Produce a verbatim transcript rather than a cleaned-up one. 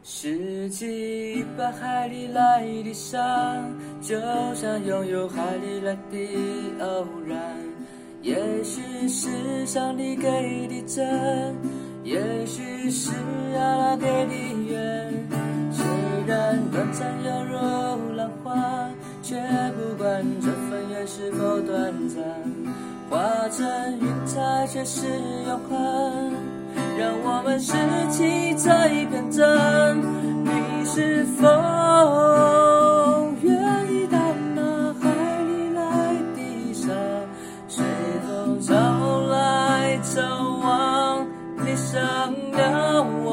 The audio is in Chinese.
拾起一把海裡來的傷，就像擁有海裡來的偶然。也許是上帝給的真，也許是阿拉給的緣。雖然短暫猶如浪花，卻不管這份緣是否短暫，化成雲彩卻是永恆。讓我們拾起這一片真，你是否願意到那海裡來的沙，隨風潮來，走往理想的我。